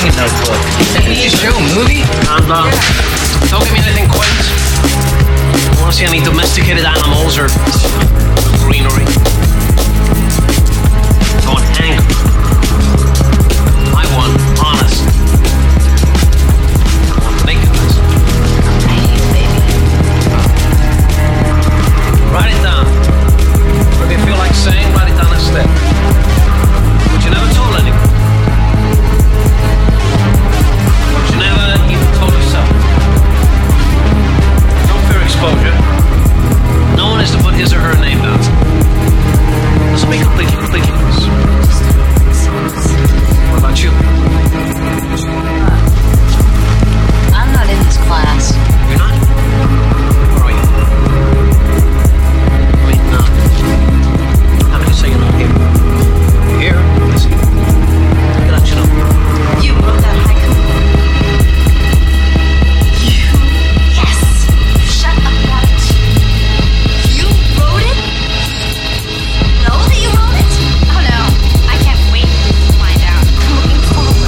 bring a notebook. TV show, movie? And don't give me anything quaint. I want to see any domesticated animals or greenery. I want anger. I want honesty. I want nakedness. I hate you, baby. Write it down. Whatever you feel like saying, write it down instead. But you never told anyone. But you never even told yourself. Don't fear exposure. No one is to put his or her name down. This will be completely ridiculous. What about you? I'm not in this class. You're not? Where are you? I mean, how many say you're not here? You're here? I see. Look at that, you know. You wrote that haiku? You? Yes! Shut up about it. You wrote it? Know that you wrote it? Oh no. I can't wait to find out. I'm looking forward.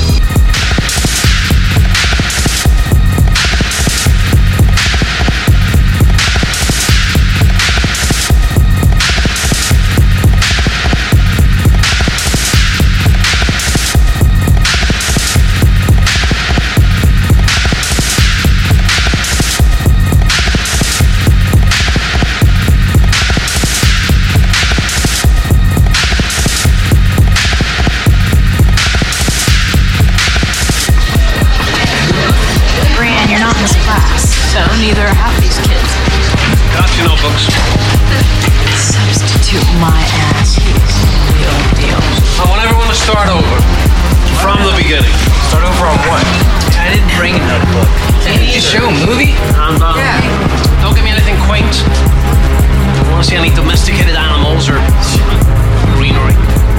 Brian, you're not in this class, so neither are half these kids. Got your notebooks. Substitute my ass. He's the real deal. I want everyone to start over. From the beginning. Start over on what? I didn't bring a notebook. TV show, movie? And don't give me anything quaint. I want to see any domesticated animals or greenery.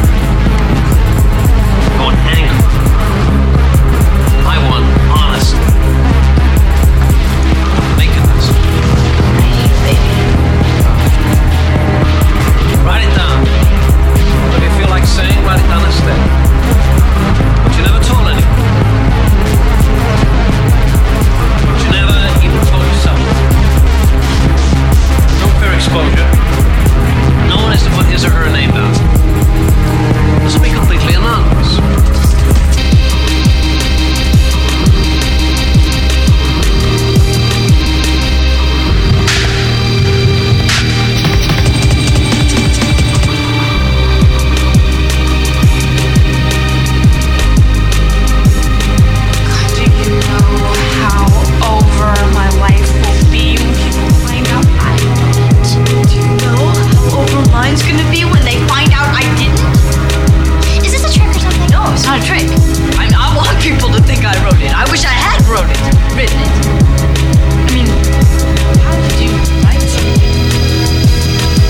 I want anger. I want honesty. Nakedness. I hate you, baby. Write it down. Whatever you feel like saying, write it down instead. But you never told anyone. But you never even told yourself. Don't fear exposure. No one is to put his or her name down. This will be completely anonymous. Do you know how over my life will be when people find out I didn't? Do you know how over mine's gonna be when they find out I didn't? Is this a trick or something? No, it's not a trick. I want people to think I wrote it. I wish I had written it. I mean, how did you write something?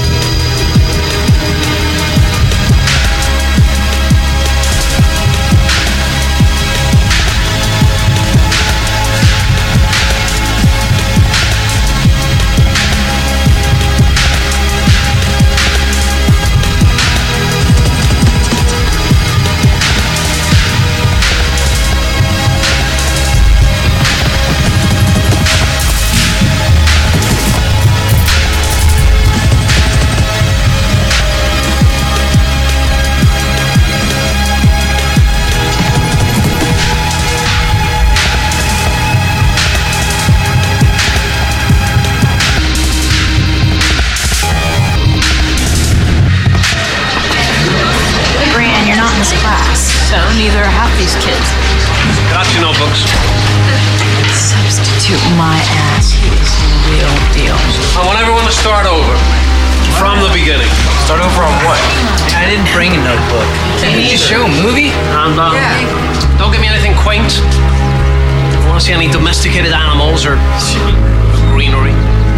Brian, you're not in this class, so neither are half these kids. Got your notebooks. Substitute my ass. He's the real deal. I want everyone to start over. From the beginning. Start over on what? I didn't bring a notebook. TV show, movie? And don't give me anything quaint. I want to see any domesticated animals or greenery.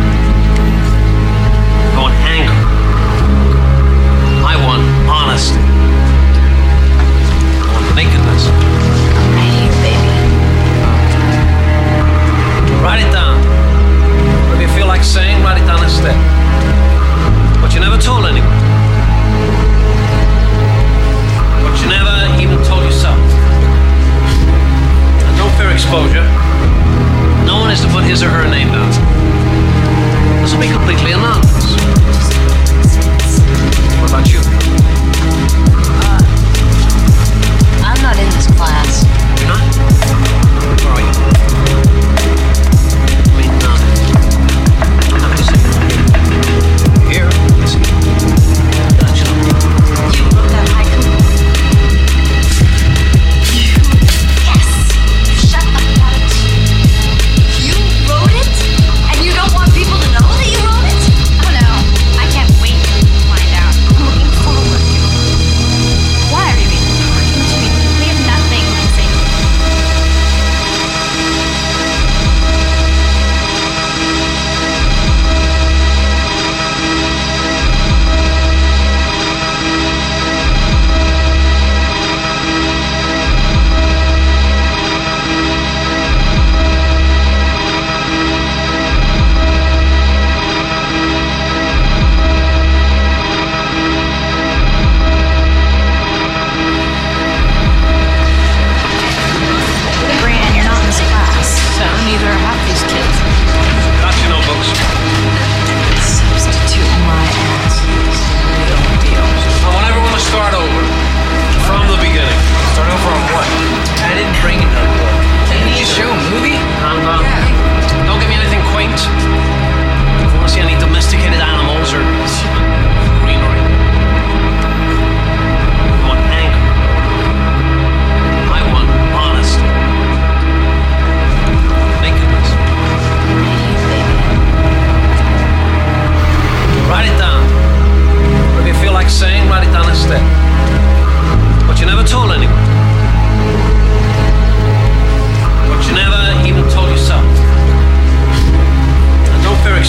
I want anger. I want honesty. I want nakedness. I hate you, baby. Write it down. Whatever you feel like saying, write it down instead. But you never told anyone. But you never even told yourself.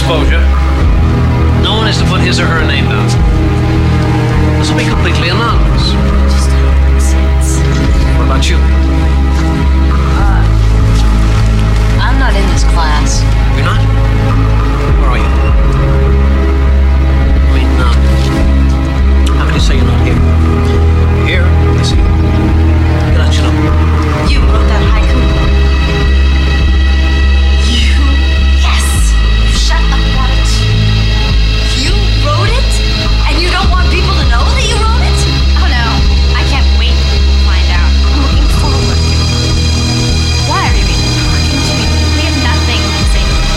exposure, no one is to put his or her name down. This will be completely anonymous. Just nonsense. What about you? I'm not in this class. You're not? Where are you? I mean, how can you say you're not here? You're here, I see. Get out your number. You wrote that haiku? You? Yes! Shut up about it. You wrote it? And you don't want people to know that you wrote it? Oh no. I can't wait to find out. I'm looking forward to it. Why are you even talking to me? We have nothing to say to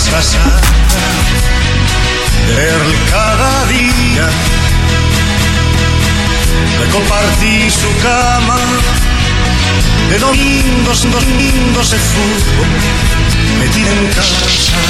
está sana de verle cada día, de compartir su cama, de domingos de fútbol, metida en casa.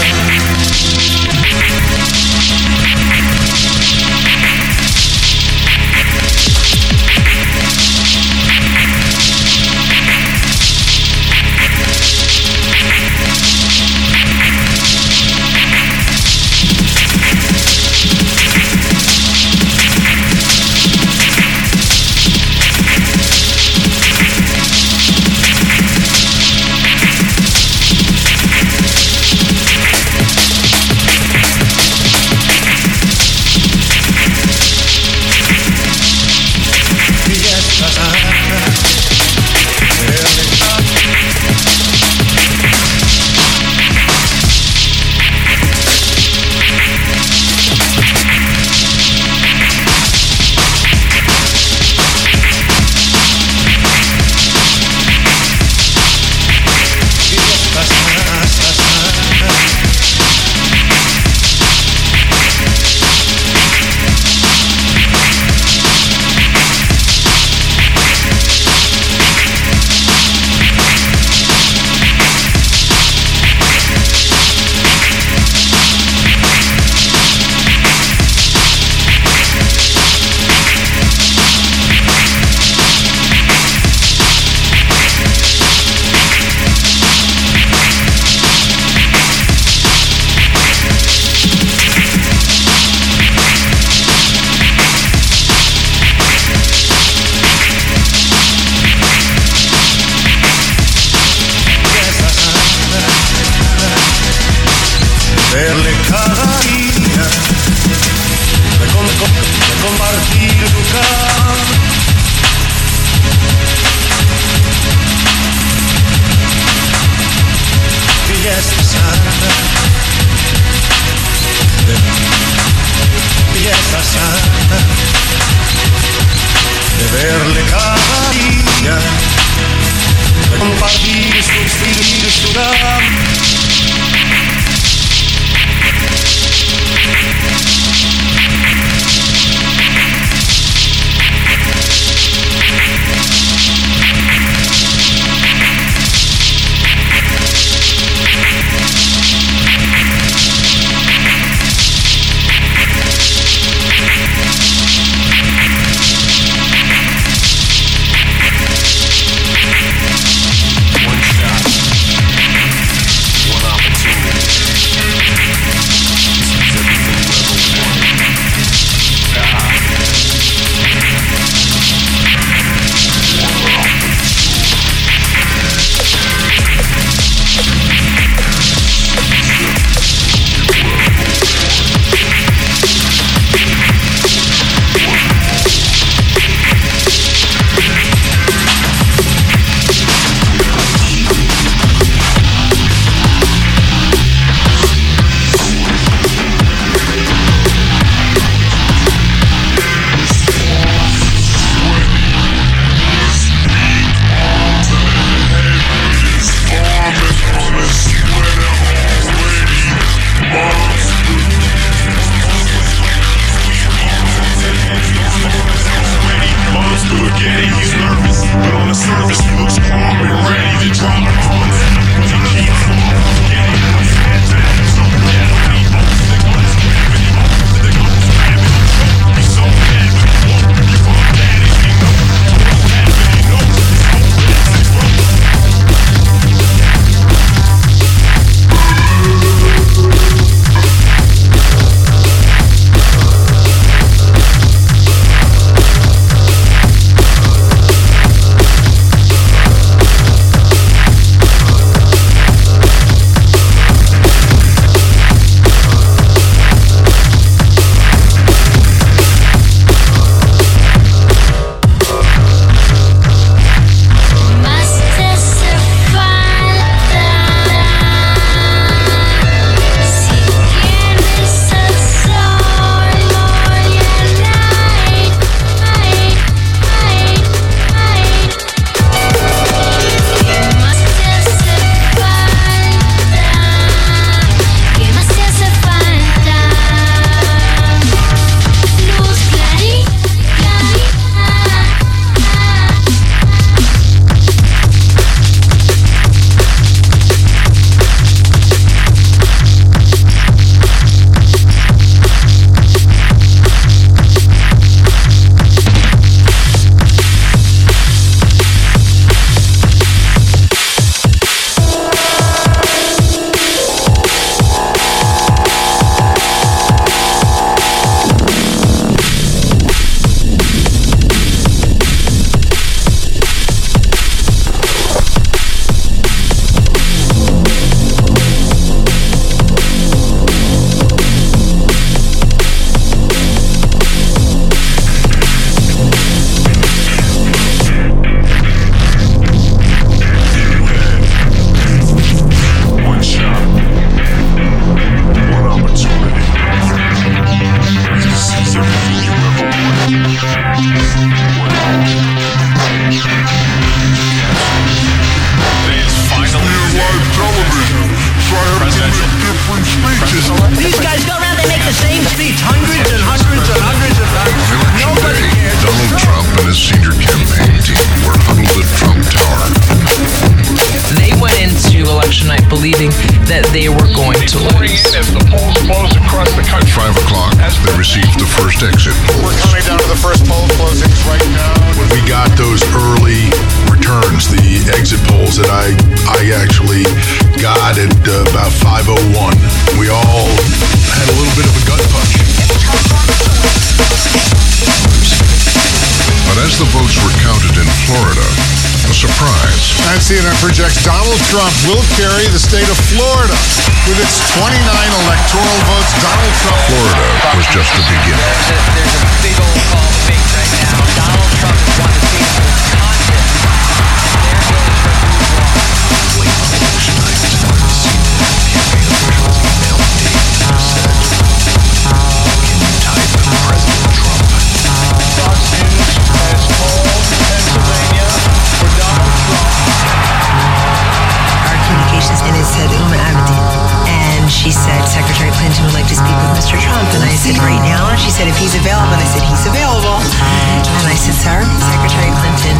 Verle cada día, de compartir tu cama, y ya está sana, y ya está sana, de verle cada día, de compartir su cama. that they were going to lose. As the polls close across the country. 5 o'clock, they received the first exit. We're coming down to the first poll closings right now. When we got those early returns, the exit polls that I actually got at about 5:01, we all had a little bit of a gut punch. But as the votes were counted in Florida, a surprise. And CNN projects Donald Trump will carry the state of Florida. With its 29 electoral votes, Donald Trump... Florida was just the beginning. There's a big old call fake right now. Donald Trump has won the state of Wisconsin. There goes her move on. Late election night, campaign officials emailed me and said, "Can you type President Trump?" Fox News has called Pennsylvania for Donald Trump. Our communications, and it said Uma Abedin. And she said, Secretary Clinton would like to speak with Mr. Trump. And I said, right now? And she said, if he's available. And I said, he's available. And I said, sir, Secretary Clinton.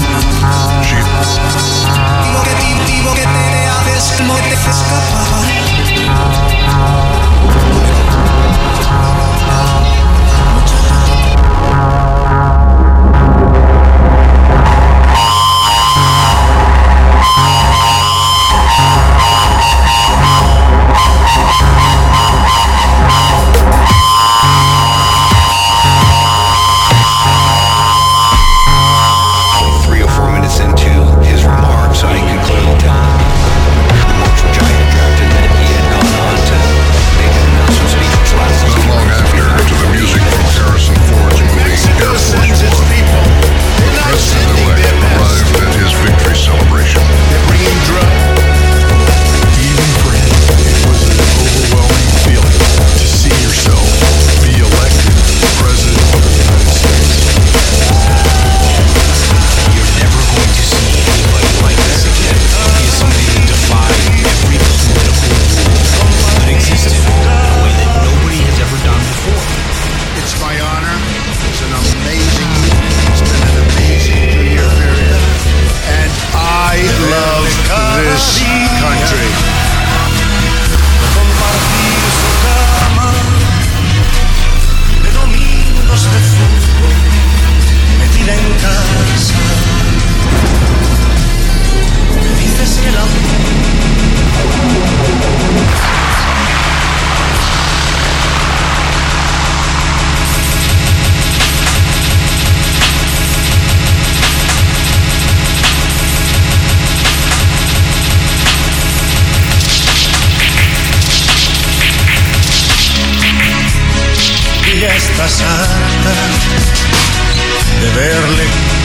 Estás harta de verle.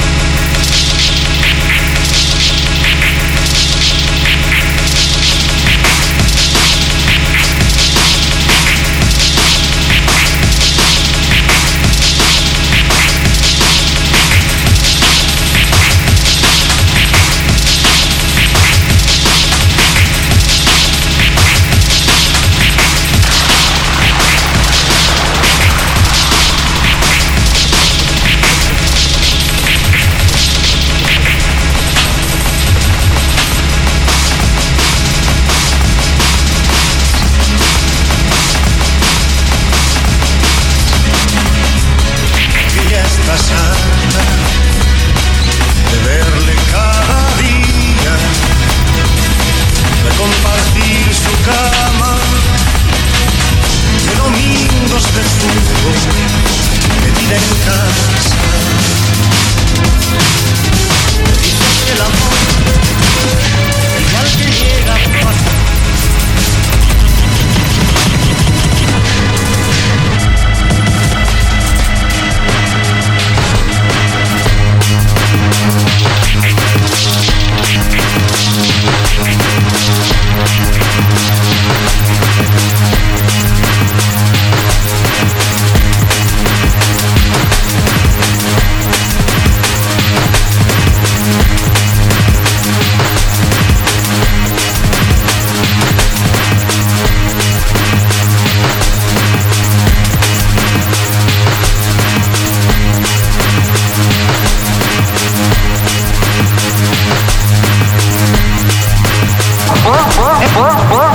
De verle cada día, de compartir su cama, de domingos de fútbol, de vida en casa. Dices que el amor, igual que llega, pasa. What?